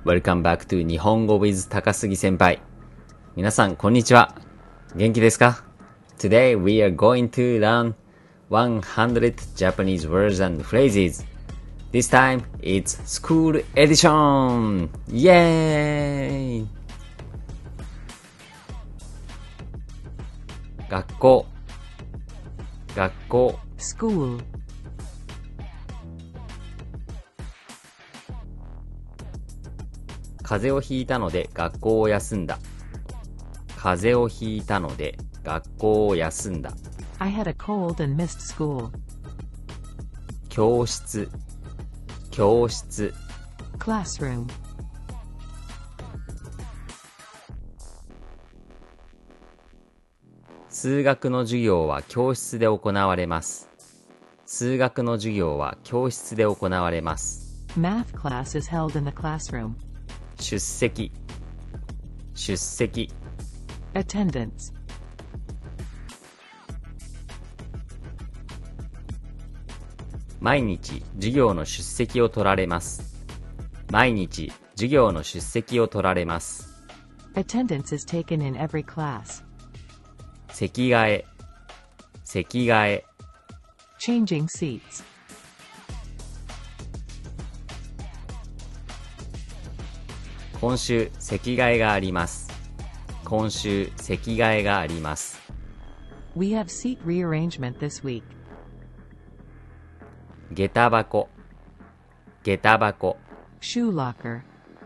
Welcome back to 日本語 with 高杉先輩。皆さん、こんにちは。元気ですか？ Today we are going to learn 100 Japanese words and phrases. This time it's school edition! イエーイ！学校 School. 風邪をひいたので学校を休んだ。風邪をひいたので学校を休んだ。 I had a cold and missed school. 教室 Classroom. 数学の授業は教室で行われます。数学の授業は教室で行われます。 Math class is held in the classroom. 出席 Attendance. 毎日授業の出席を取られます。毎日授業の出席を取られます。 Attendance is taken in every class. 席替え Changing seats. 今週席替えがあります。今週席替えがあります。 We have seat rearrangement this week. 下駄箱 Shoe locker.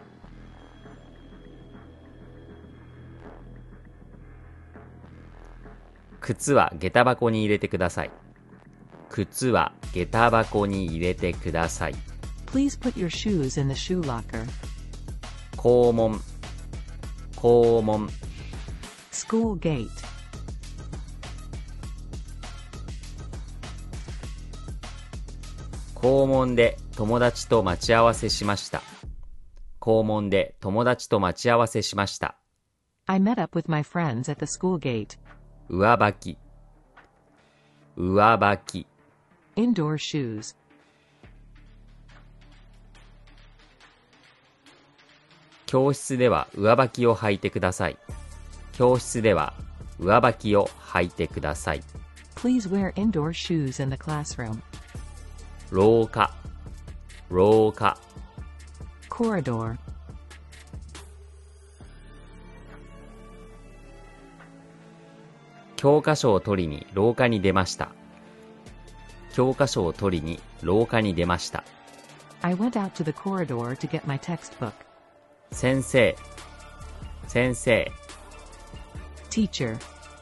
靴は下駄箱に入れてください。靴は下駄箱に入れてください。 Please put your shoes in the shoe locker. 校門 School gate. 校門で友達と待ち合わせしました。校門で友達と待ち合わせしました。 I met up with my friends at the school gate. 上履き Indoor shoes. 教室では上履きを履いてください。教室では上履きを履いてください。 Please wear indoor shoes in the classroom. 廊下 Corridor. 教科書を取りに廊下に出ました。教科書を取りに廊下に出ました。 I went out to the corridor to get my textbook. 先生 Teacher.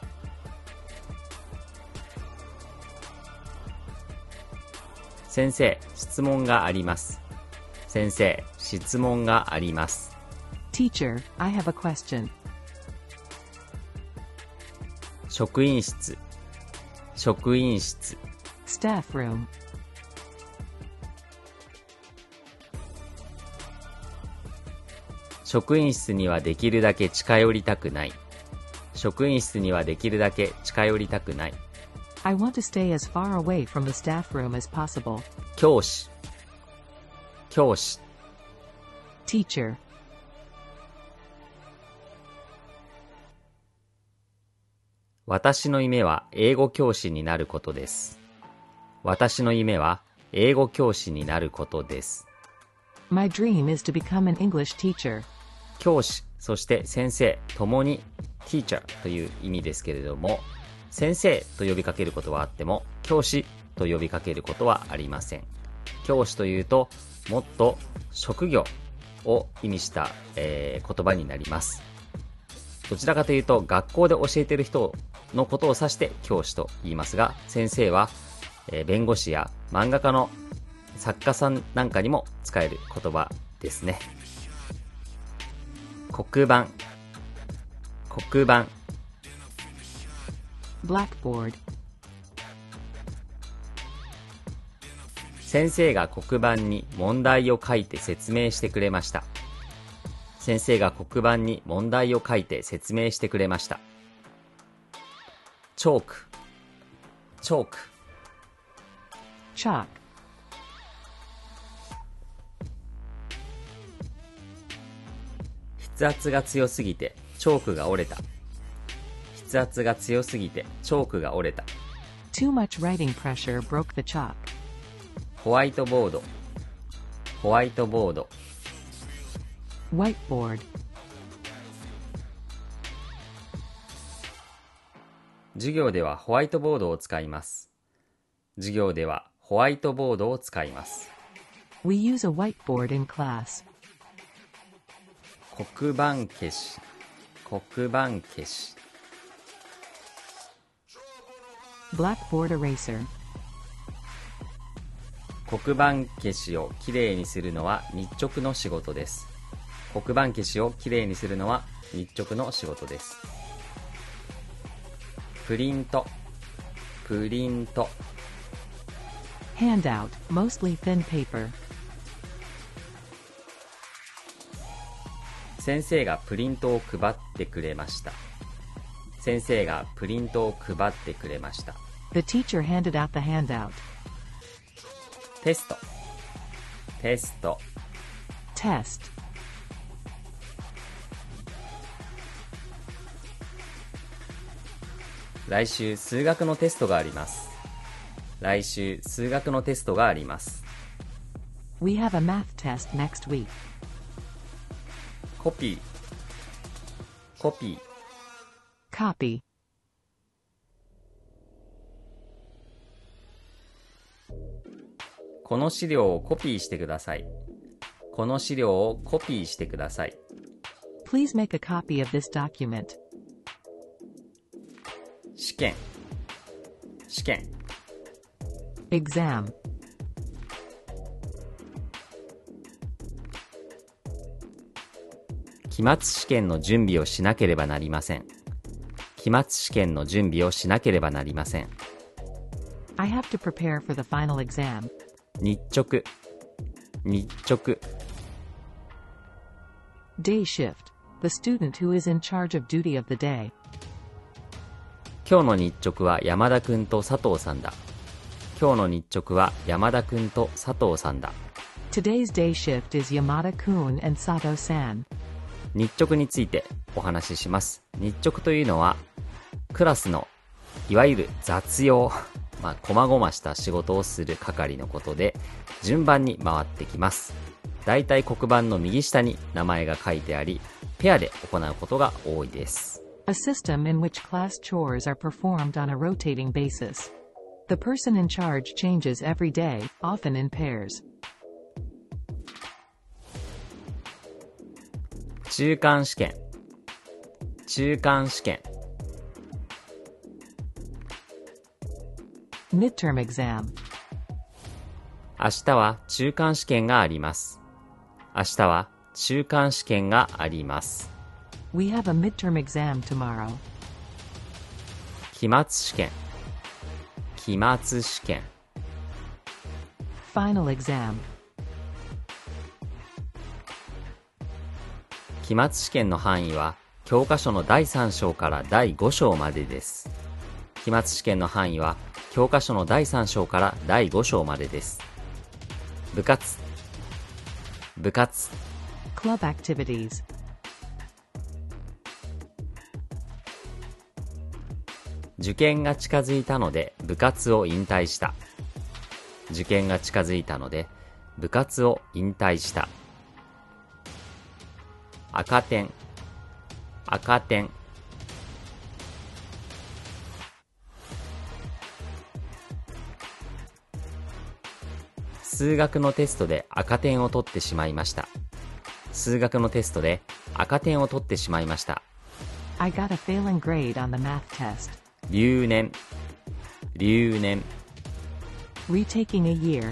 先生、質問があります。先生、質問があります。 Teacher, I have a question. 職員室 Staff room. 職員室にはできるだけ近寄りたくない。職員室にはできるだけ近寄りたくない。 I want to stay as far away from the staff room as possible. 教師 Teacher. 私の夢は英語教師になることです。私の夢は英語教師になることです。 My dream is to become an English teacher. 教師、そして先生ともに teacher という意味ですけれども、先生と呼びかけることはあっても教師と呼びかけることはありません。教師というともっと職業を意味した、言葉になります。どちらかというと学校で教えている人のことを指して教師と言いますが、先生は、弁護士や漫画家の作家さんなんかにも使える言葉ですね。黒板 Blackboard. 先生が黒板に問題を書いて説明してくれました。先生が黒板に問題を書いて説明してくれました。チョーク Chalk. 筆圧が強すぎてチョークが折れた。筆圧が強すぎてチョークが折れた。 Too much writing pressure broke the chalk. ホワイトボード、ホワイトボード。 Whiteboard. 授業ではホワイトボードを使います。授業ではホワイトボードを使います。 We use a whiteboard in class. 黒板消し、黒板消し。 Blackboard eraser. 黒板消しをきれいにするのは日直の仕事です。黒板消しをきれいにするのは日直の仕事です。プリント、プリント。 Handout, mostly thin paper. 先生がプリントを配ってくれました。先生がプリントを配ってくれました。 The teacher handed out the handout. テスト、テスト。 Test. 来週数学のテストがあります。来週数学のテストがあります。 We have a math test next week. コピー、コピー。 Copy. この資料をコピーしてください。この資料をコピーしてください。 Please make a copy of this document. 試験、試験。 Exam. 期末試験の準備をしなければなりません。期末試験の準備をしなければなりません。 I have to prepare for the final exam. 日直、日直。 Day shift. The student who is in charge of duty of the day. 今日の日直は山田くんと佐藤さんだ。今日の日直は山田くんと佐藤さんだ。 Today's day shift is Yamada-kun and Sato-san. 日直についてお話しします。日直というのはクラスのいわゆる雑用、細々した仕事をする係のことで順番に回ってきます。だいたい黒板の右下に名前が書いてあり、ペアで行うことが多いです。 A system in which class chores are performed on a rotating basis. The person in charge changes every day, often in pairs. 中間試験、中間試験。 Midterm exam. 明日は中間試験があります。明日は中間試験があります。 We have a midterm exam tomorrow. 期末試験、期末試験。 Final exam. 期末試験の範囲は教科書の第3章から第5章までです。期末試験の範囲は教科書の第3章から第5章までです。部活、部活。 Club activities. 受験が近づいたので部活を引退した。受験が近づいたので部活を引退した。赤点、赤点。数学のテストで赤点を取ってしまいました。数学のテストで赤点を取ってしまいました。 I got a failing grade on the math test. 留年、留年。 Retaking a year.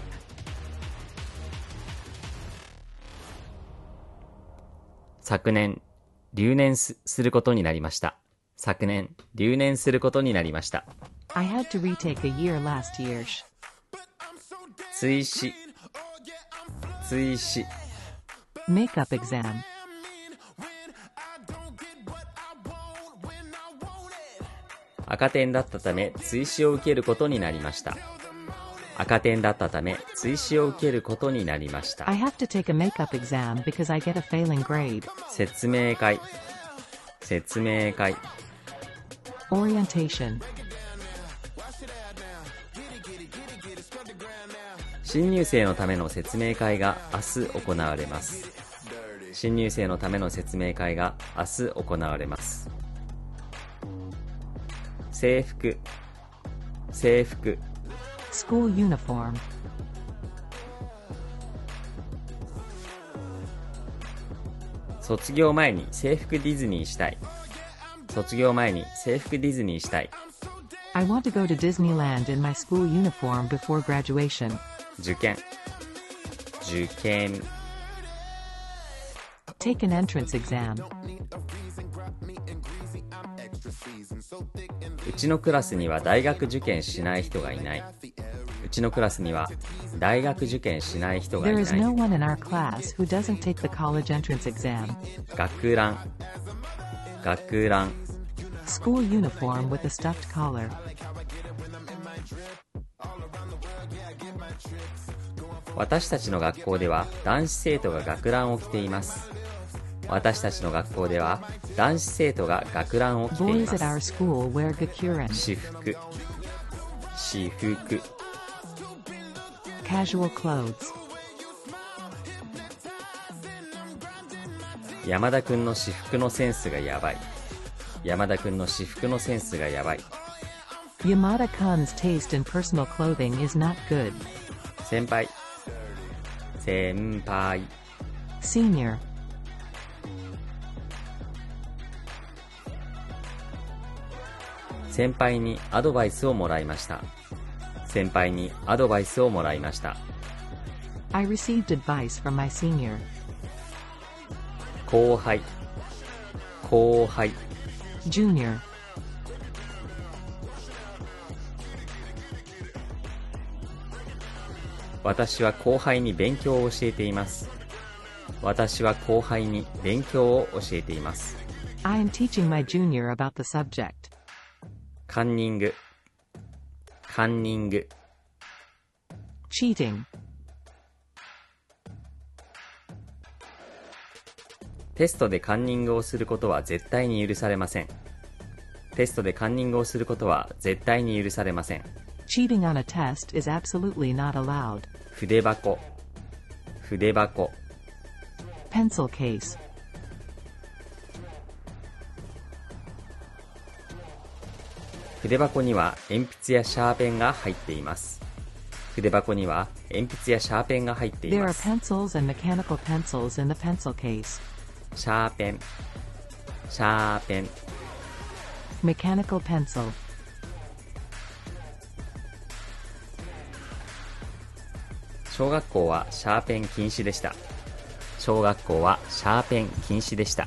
昨年、留年することになりました。昨年、留年することになりました。 I had to retake a year last year. 追試、追試。 Makeup exam. 赤点だったため追試を受けることになりました。 赤点だったため追試を受けることになりました。 I have to take a makeup exam because I get a failing grade. 説明会、説明会。 Orientation. 新入生のための説明会が明日行われます。新入生のための説明会が明日行われます。制服、制服。 School uniform. 卒業前に制服ディズニーしたい。卒業前に制服ディズニーしたい。 I want to go to Disneyland in my school uniform before graduation. 受験、受験。 Take an entrance exam. うちのクラスには大学受験しない人がいない。うちのクラスには大学受験しない人がい There な is no い。 one in our class who doesn't take the college entrance exam. 学ラン、学ラン。 School uniform with a stuffed collar. 私たちの学校では男子生徒が学ランを着ています。私たちの学校では男子生徒が学ランを着てい Boys ま at our す。 school wear gakuren. 私服、私服。 Casual clothes. 山田くんの私服のセンスがやばい。山田くんの私服のセンスがやばい。 Yamada-kun's taste in personal clothing is not good. 先輩、先輩。 Senior. 先輩にアドバイスをもらいました。先輩にアドバイスをもらいました。 I received advice from my senior. 後輩、後輩。 Junior. 私は後輩に勉強を教えています。私は後輩に勉強を教えています。 I am teaching my junior about the subject. カンニング、カンニング。 Cheating. テストでカンニングをすることは絶対に許されません。テストでカンニングをすることは絶対に許されません。 Cheating on a test is absolutely not allowed. 筆箱、筆箱。 Pencil case. 筆箱には鉛筆やシャーペンが入っています。筆箱には鉛筆やシャーペンが入ってい There ま are す。 pencils and mechanical pencils in the pencil case. シャーペン、シャーペン。 Mechanical pencil. 小学校はシャーペン禁止でした。小学校はシャーペン禁止でした。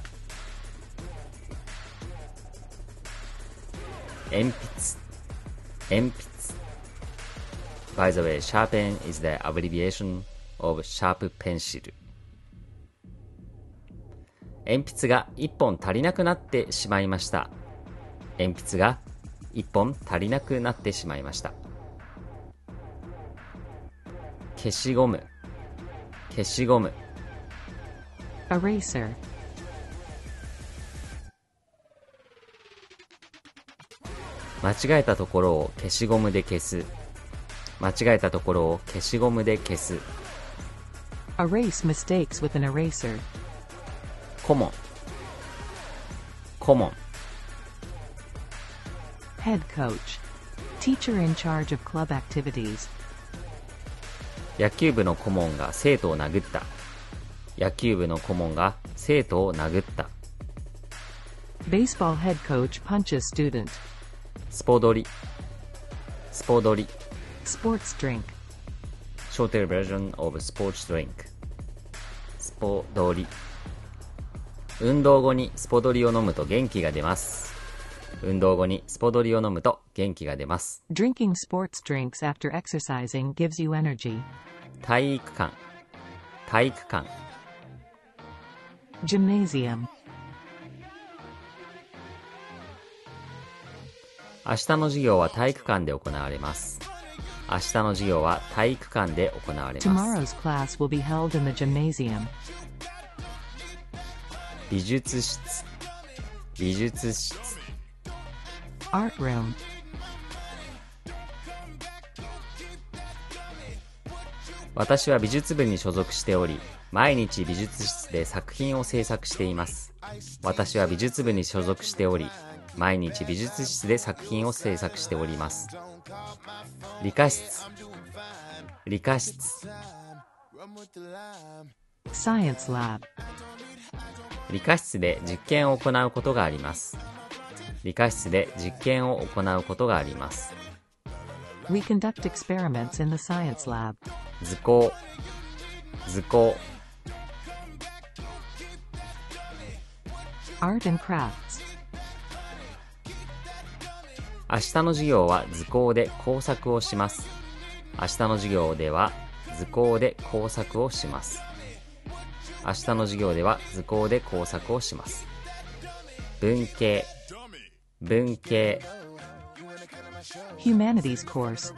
鉛筆、鉛筆。By the way, sharpen is the abbreviation of sharp pencil. 鉛筆が1本足りなくなってしまいました。鉛筆が1本足りなくなってしまいました。消しゴム、消しゴム。 Eraser. 間違えたところを消しゴムで消す。間違えたところを消しゴムで消す。 Erase mistakes with an eraser. 顧問、顧問。 Head coach. Teacher in charge of club activities. 野球部の顧問が生徒を殴った。野球部の顧問が生徒を殴った。 Baseball head coach punches student. スポドリ、スポドリ。 Sports drink. Shorter version of sports drink。スポドリ。運動後にスポドリを飲むと元気が出ます。運動後にスポドリを飲むと元気が出ます。 Drinking sports drinks after exercising gives you energy. 体育館、体育館。 Gymnasium. 明日の授業は体育館で行われます。 明日の授業は体育館で行われます。 Tomorrow's class will be held in the gymnasium. 美術室、美術室。 Art room. 私は美術部に所属しており、毎日美術室で作品を制作しています。私は美術部に所属しており、毎日美術室で作品を制作しております。理科室、理科室。 Science lab. 理科室で実験を行うことがあります。理科室で実験を行うことがあります。 We conduct experiments in the science lab. 図工、図工。 Art and crafts. 明日の授業は図工で工作をします。明日の授業では図工で工作をします。明日の授業では図工で工作をします。文系、文系。 Humanities course.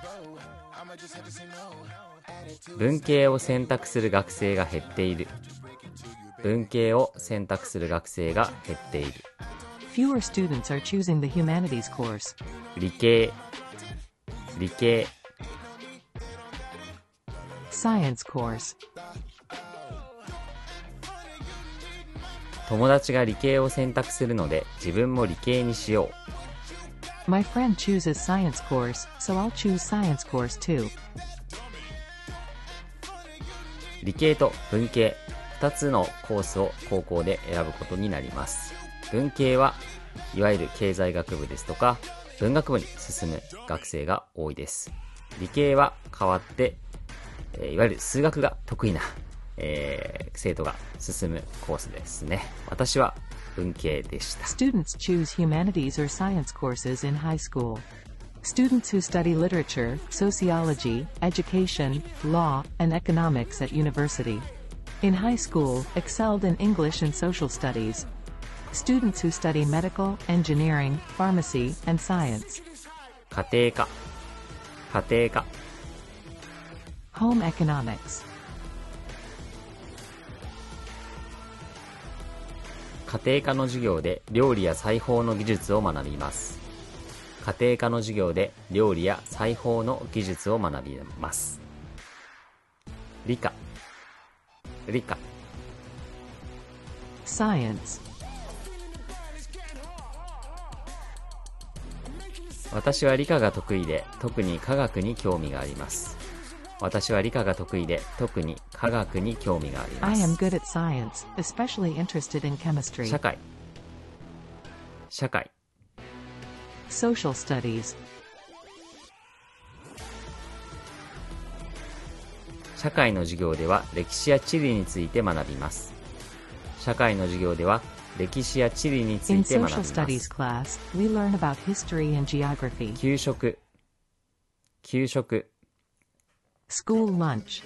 文系を選択する学生が減っている。文系を選択する学生が減っている。 Fewer students are choosing the humanities course. 理系、理系。 Science course. 友達が理系を選択するので自分も理系にしよう。 My friend chooses science course, so I'll choose science course too. 理系と文系2つのコースを高校で選ぶことになります。文系はいわゆる経済学部ですとか文学部に進む学生が多いです。理系は代わっていわゆる数学が得意な、生徒が進むコースですね。私は文系でした。 Students choose humanities or science courses in high school. Students who study literature, sociology, education, law, and economics at university. In high school, excelled in English and social studies. Students who study medical, engineering, pharmacy, and science. 家庭科、家庭科。 Home economics. 家庭科の授業で料理や裁縫の技術を学びます。家庭科の授業で料理や裁縫の技術を学びます。理科、理科。 Science. 私は理科が得意で特に科学に興味があります。私は理科が得意で特に科学に興味がありま I す。 am good at science, especially interested in chemistry. 社会、社会。 Social studies. 社会の授業では歴史や地理について学びます。社会の授業では歴史や地理につ In いて学び social ま studies す。 class, we learn about history and geography. 給食、給食。 School lunch.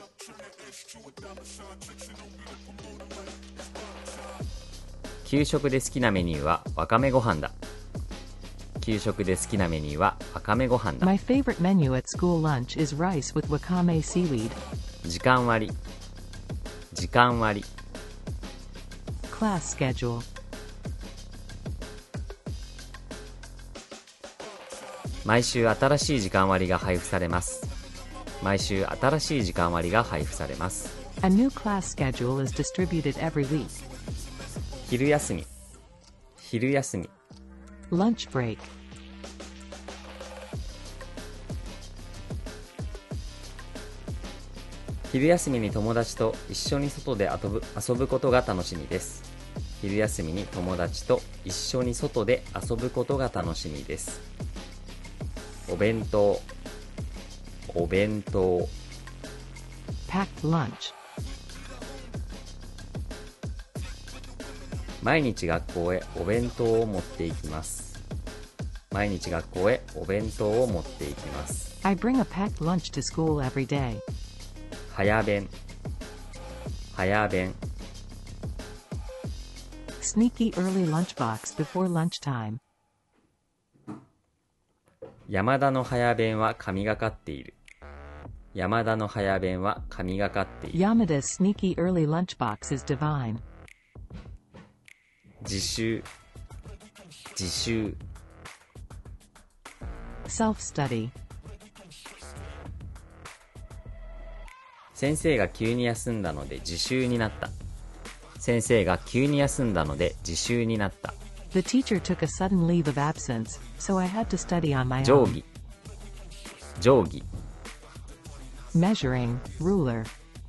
給食で好きなメニューはわかめご飯だ。給食で好きなメニューはわかめご飯だ。 My favorite menu at school lunch is rice with wakame seaweed. 時間割、時間割。 Class schedule. 毎週新しい時間割が配布されます。毎週新しい時間割が配布されます。 A new class schedule is distributed every week. 昼休み、昼休み。 Lunch break. 昼休みに友達と一緒に外で遊ぶことが楽しみです。昼休みに友達と一緒に外で遊ぶことが楽しみです。お弁当、お弁当。 Packed lunch. 毎日学校へお弁当を持っていきます。毎日学校へお弁当を持っていきます。 I bring a packed lunch to school every day. 早弁、早弁。 Sneaky early lunchbox before lunchtime. 山田の早弁は神がかっている。 山田の早弁は神がかっている。 Yamada's sneaky early lunchbox is divine. 自習自習 Self-study. 先生が急に休んだので自習になった。先生が急に休んだので自習になった。 The teacher took a sudden leave of absence, so I had to study on my 定 own. 規定規 Measuring, ruler.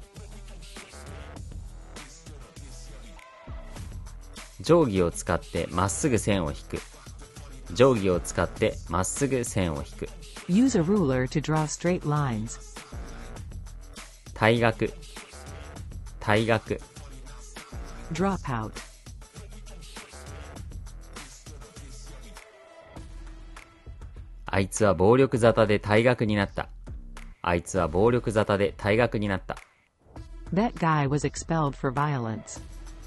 定規を使ってまっすぐ線を引く。定規を使ってまっすぐ線を引く。 Use a ruler to draw straight lines. 退学退学 Drop out. あいつは暴力沙汰で退学になった。あいつは暴力沙汰で退学になった。 That guy was expelled for violence.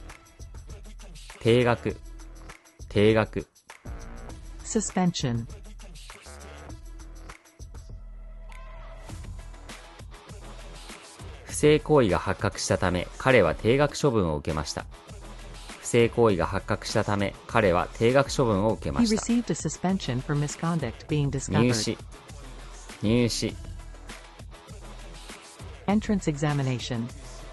停学停学 Suspension. 不正行為が発覚したため彼は停学処分を受けました。不正行為が発覚したため彼は停学処分を受けま He した。 received a suspension for misconduct being 入 discovered. 試入試 Entrance examination.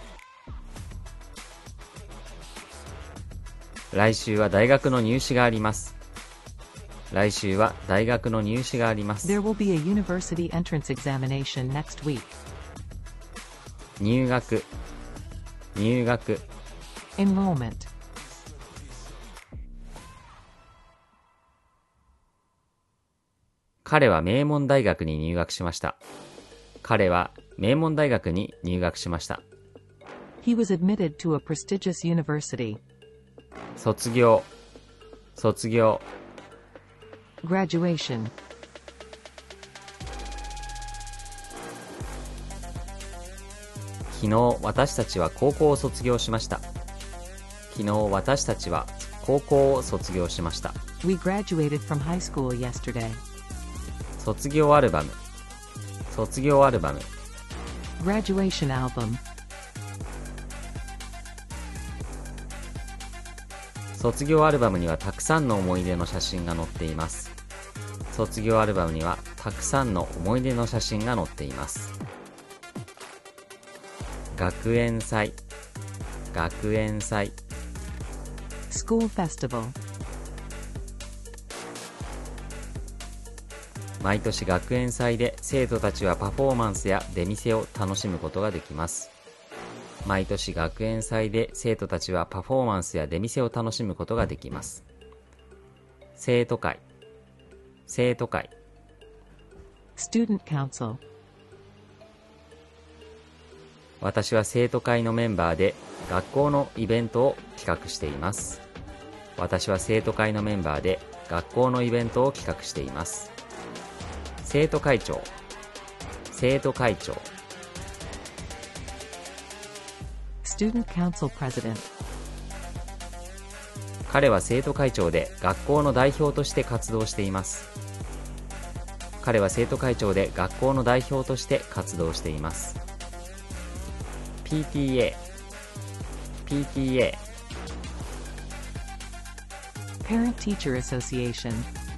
来週は大学の入試があります。来週は大学の入試があります。 There will be a university entrance examination next week. 入学入学 Enrollment. 彼は名門大学に入学しました。彼は名門大学に入学しました。 He was admitted to a prestigious university. 卒業卒業 Graduation. 昨日私たちは高校を卒業しました。昨日私たちは高校を卒業しました。 We graduated from high school yesterday. 卒業アルバム卒業アルバム Graduation album. 卒業アルバムにはたくさんの思い出の写真が載っています。卒業アルバムにはたくさんの思い出の写真が載っています。学園祭学園祭 School festival. 毎年学園祭で生徒たちはパフォーマンスや出店を楽しむことができます。毎年学園祭で生徒たちはパフォーマンスや出店を楽しむことができます。生徒会生徒会 Student council. 私は生徒会のメンバーで学校のイベントを企画しています。私は生徒会のメンバーで学校のイベントを企画しています。生徒会長生徒会長 Student council president. 彼は生徒会長で学校の代表として活動しています。彼は生徒会長で学校の代表として活動しています。PTA PTA Parent teacher association.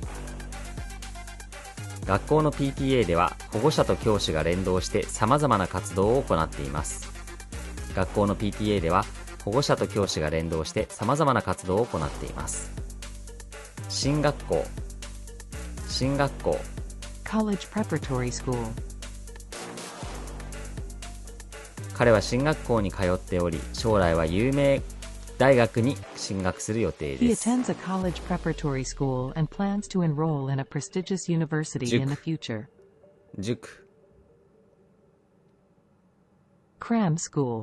学校の PTA では保護者と教師が連動して様々な活動を行っています。学校の PTA では保護者と教師が連動して様々な活動を行っています。進学校進学校 College preparatory school. 彼は進学校に通っており、将来は有名大学に進学する予定 He です。 attends a college preparatory school and plans to enroll in a prestigious university in the future. 塾 Cram school.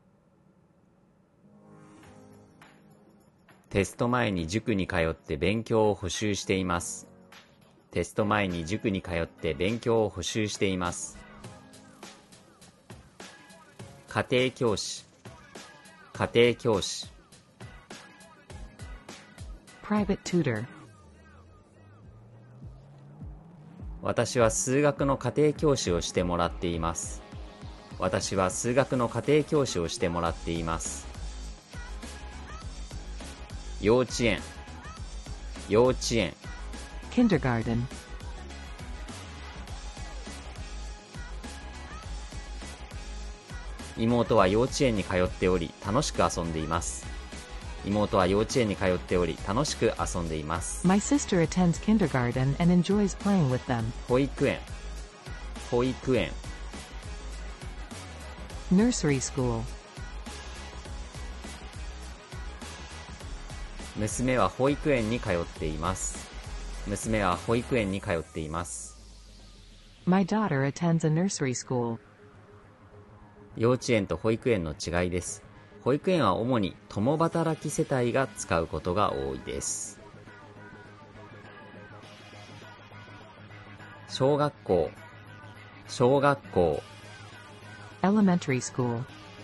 テスト前に塾に通って勉強を補習しています。テスト前に塾に通って勉強を補習しています。家庭教師家庭教師 Private tutor. 私は数学の家庭教師をしてもらっています。 私は数学の家庭教師をしてもらっています。幼稚園、幼稚園。 kindergarten, 妹は幼稚園に通っており楽しく遊んでいます。妹は幼稚園に通っており楽しく遊んでいます。 my sister attends kindergarten and enjoys playing with them. 保育園、保育園。 Nursery school, 娘は保育園に通っています。娘は保育園に通っています。 my daughter attends a nursery school. 幼稚園と保育園の違いです。保育園は主に共働き世帯が使うことが多いです。小学校、小学校。 Elementary school,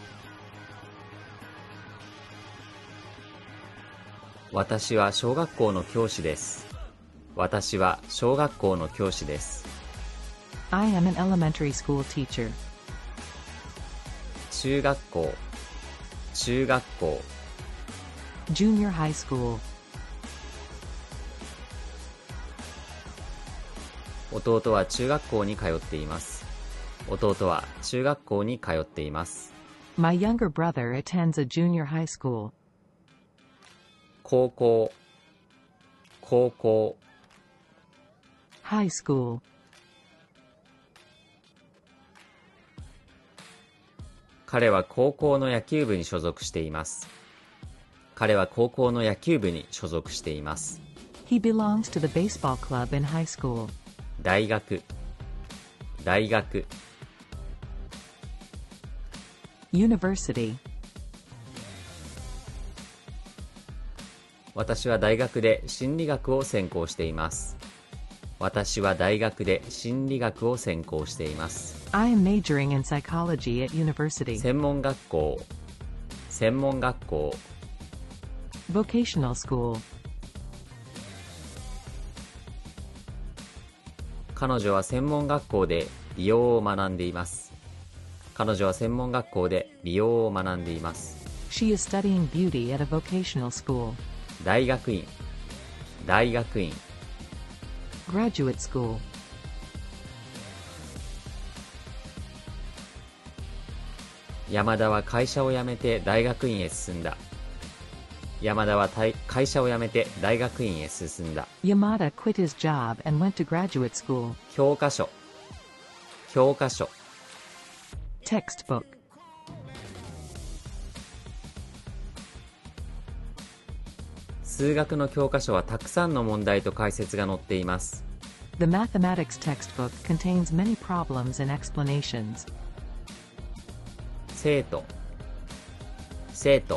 私は小学校の教師です。私は小学校の教師です。 I am an elementary school teacher. 中学校、中学校。 Junior high school, 弟は中学校に通っています。弟は中学校に通っています。 my younger brother attends a junior high school. 高校、高校。 High school, 彼は高校の野球部に所属しています。彼は高校の野球部に所属しています。 he belongs to the baseball club in high school. 大学、大学。 University, 私は大学で心理学を専攻しています。私は大学で心理学を専攻しています。 I am majoring in psychology at university. 専門学校、専門学校。 Vocational school, 彼女は専門学校で美容を学んでいます。彼女は専門学校で美容を学んでいます。 she is studying beauty at a vocational school. 大学院、大学院。 Graduate school, 山田は会社を辞めて大学院へ進んだ。山田は会社を辞めて大学院へ進んだ。 Yamada quit his job and went to graduate school. 教科書、教科書。 Textbook, 数学の教科書はたくさんの問題と解説が載っています。 the mathematics textbook contains many problems and explanations. 生徒、生徒。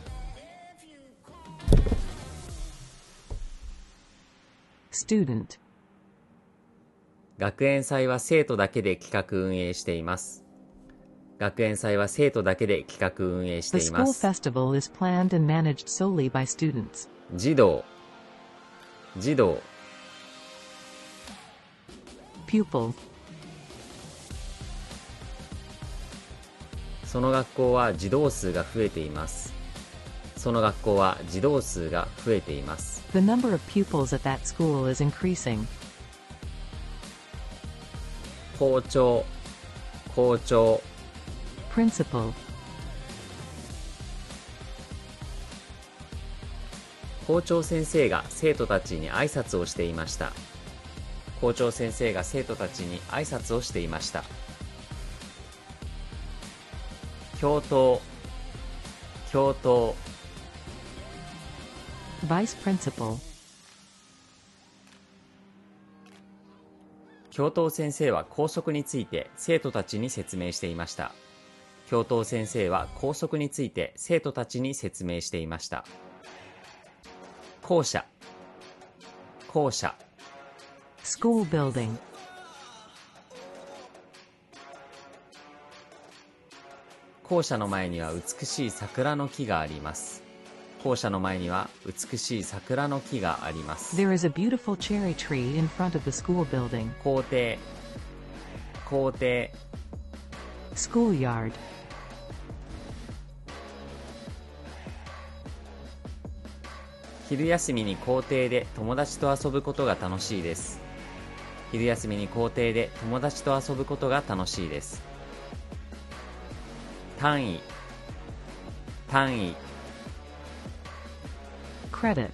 Student, 学園祭は生徒だけで企画運営しています。学園祭は生徒だけで企画運営し the ていま school す。 festival is planned and managed solely by students. 児童、児童。 Pupil, その学校は児童数が増えています。その学校は児童数が増えています。 the number of pupils at that school is increasing. 校長、校長。 Principal, 校長先生が生徒たちに挨拶をしていました。校長先生が生徒たちに挨拶をしていました。教頭、教頭。 Vice principal, 教頭先生は校則について生徒たちに説明していました。教頭先生は校則について生徒たちに説明していました。校舎、校舎。 school building, 校舎の前には美しい桜の木があります。校舎の前には美しい桜の木があります。 there is a beautiful cherry tree in front of the school building. 校庭、校庭。 schoolyard, 昼休みに校庭で友達と遊ぶことが楽しいです。昼休みに校庭で友達と遊ぶことが楽しいです。単位、単位、 credit,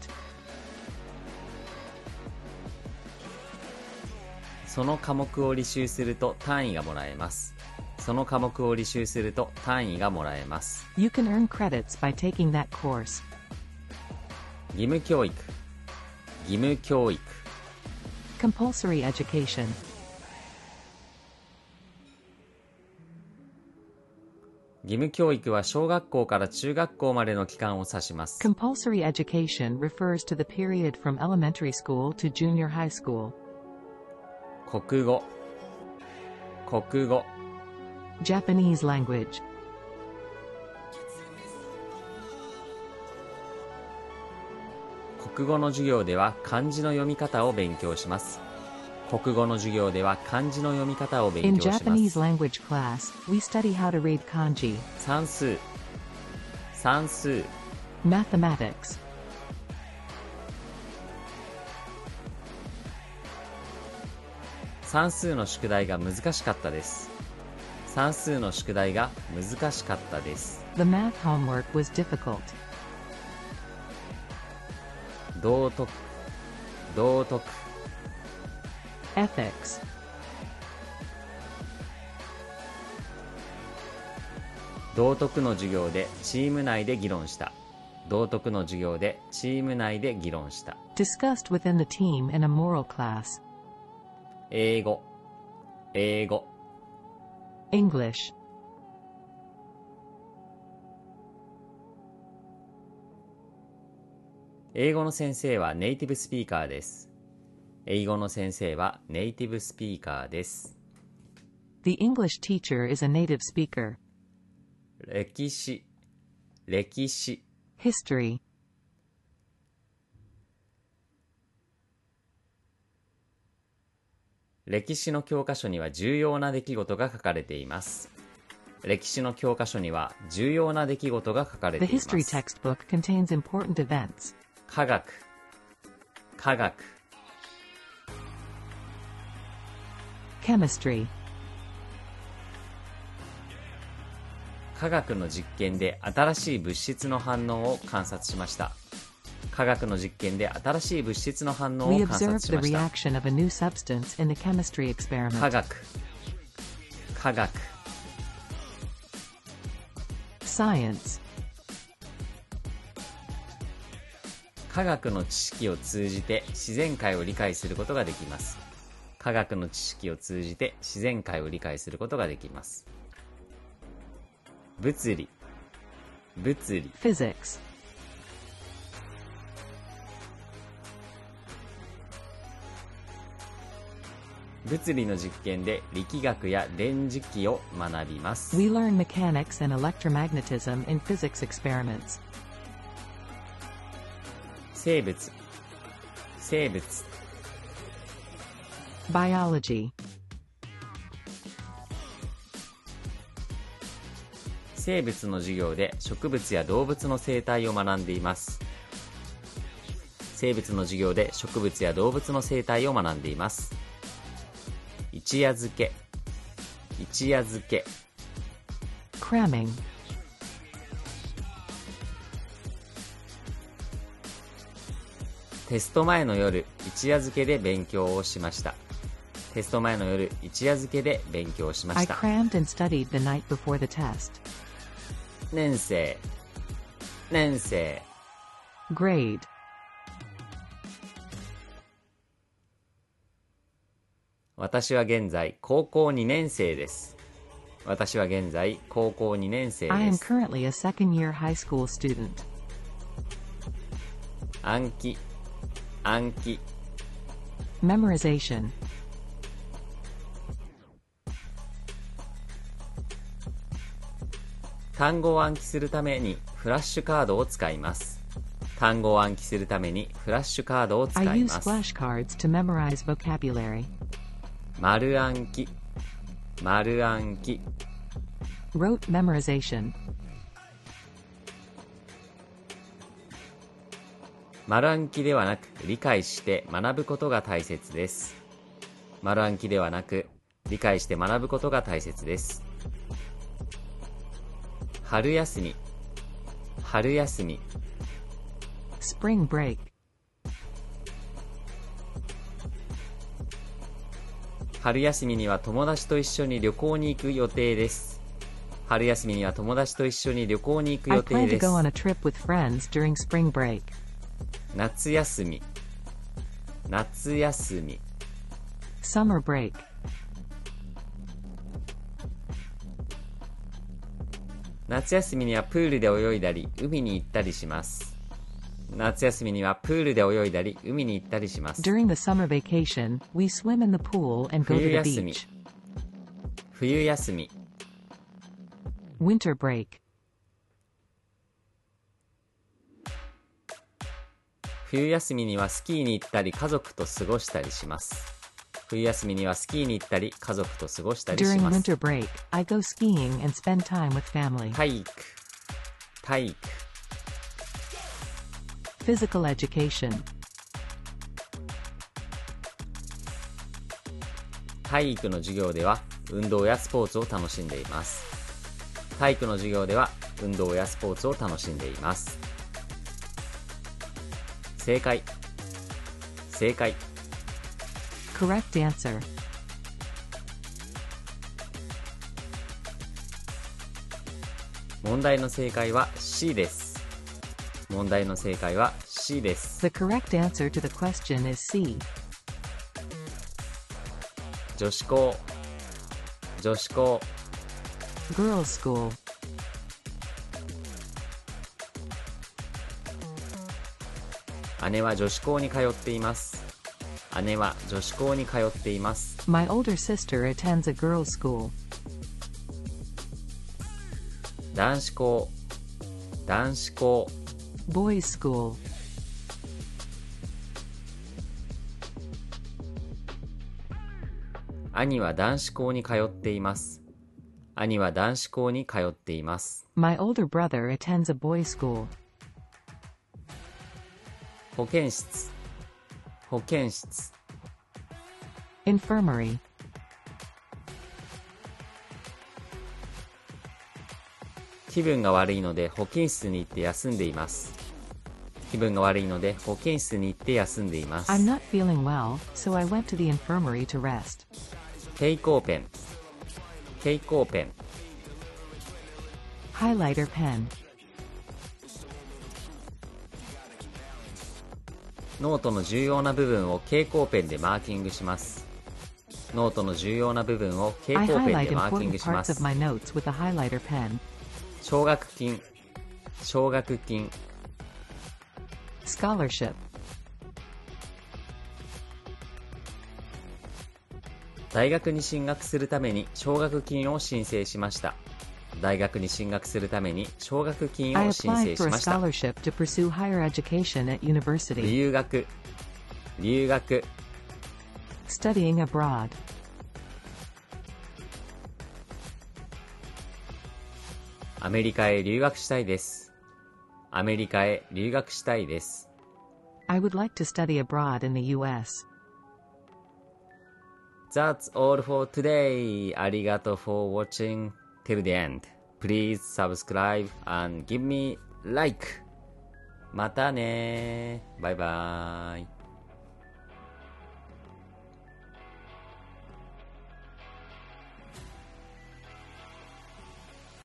その科目を履修すると単位がもらえます。その科目を履修すると単位がもらえます。 you can earn credits by taking that course, 義務教育、義務教育、 compulsory education, 義務教育は小学校から中学校までの期間を指します。 compulsory education refers to the period from elementary school to junior high school, 国語、国語、 Japanese language, 国語の授業では漢字の読み方を勉強します。国語の授業では漢字の読み方を勉 in 強しま Japanese す。 language class, we study how to read kanji, 算数、算数、 mathematics, 算数の宿題が難しかったです。算数の宿題が難しかったです。 the math homework was difficult, 道徳、道徳、 ethics, 道徳の授業でチーム内で議論した。道徳の授業でチーム内で議論した。 discussed within the team in a moral class, 英語、英語、 English, 英語の先生はネイティブスピーカーです。英語の先生はネイティブスピーカーです。 the English teacher is a native speaker, 歴史、歴史、 history, 歴史の教科書には重要な出来事が書かれています。歴史の教科書には重要な出来事が書かれて the います。 history textbook contains important events, 科学、科学、 chemistry, 科学の実験で新しい物質の反応を観察しました。科学の実験で新しい物質の反応 we を観察 observed し the ました。 reaction of a new substance in the chemistry 科 experiment, 学、科学、 science, 科学の知識を通じて自然界を理解することができます。科学の知識を通じて自然界を理解することができます。物理、物理、 physics, 物理の実験で力学や電磁気を学びます。 we learn mechanics and electromagnetism in physics experiments, 生物、生物、 biology, 生物の授業で植物や動物の生態を学んでいます。生物の授業で植物や動物の生態を学んでいます。一夜漬け、一夜漬け、 cramming, テスト前の夜、一夜漬けで勉強をしました。テスト前の夜、一夜漬けで勉強しま I した。 crammed and studied the night before the test, 年生、年生、 grade, 私は現在高校2年生です。私は現在高校2年生 I で am す。 currently a second-year high school student, 暗記、暗記、 memorization, 単語を暗記するためにフラッシュカードを使います。単語を暗記するためにフラッシュカードを使 I い use ます。 flashcards to memorize vocabulary, 丸暗記、丸暗記、 Rote memorization. 丸暗記ではなく理解して学ぶことが大切です。丸暗記ではなく理解して学ぶことが大切です。春休み、春休み。 Spring break. 春休みには友達と一緒に旅行に行く予定です。春休みには友達と一緒に旅行に行く I 予 plan 定 to です。 go on a trip with friends during spring break. 夏休み、夏休み。 Summer break. 夏休みにはプールで泳いだり海に行ったりします。夏休みにはプールで泳いだり海に行ったりします。 During the summer vacation, we swim in the pool and go to 冬 the 休み、 beach. 冬休み。 Winter break. 冬休みにはスキーに行ったり家族と過ごしたりします。冬休みにはスキーに行ったり家族と過ごしたりし During ます。 winter break, I go skiing and spend time with family. 体育、体育。 Physical education. 体育の授業では運動やスポーツを楽しんでいます。体育の授業では運動やスポーツを楽しんでいます。正解、正解。 Correct answer. 問題の正解は C です。問題の正解は C です。 The correct answer to the question is C. 女子校、女子校。 Girls' school. 姉は女子校に通っています。姉は女子校に通っています。 My older sister attends a girls' school. 男子校、男子校。 Boys' school. 兄は男子校に通っています。兄は男子校に通っています。 My older brother attends a boys' school. 保健室、保健室。 Infirmary. 気分が悪いので保健室に行って休んでいます。気分が悪いので保健室に行って休んでいます。 I'm not feeling well, so I went to the infirmary to rest. 蛍光ペン、蛍光ペン。 Highlighter pen. ノートの重要な部分を蛍光ペンでマーキングします。ノートの重要な部分を蛍 I 光ペン highlight でマーキン important グしま parts of す。 my notes with a highlighter pen. 奨学金、奨学金。 Scholarship. 大学に進学するために奨学金を申請しました。大学に進学するために奨学金 I を申 applied 請し for a ました。 scholarship to pursue higher education at university. 留学、留学。 Studying abroad. アメリカへ留学したいです。アメリカへ留学したいです。 I would like to study abroad in the US. That's all for today. ありがとう for watching till the end. Please subscribe and give me like. またね。バイバイ。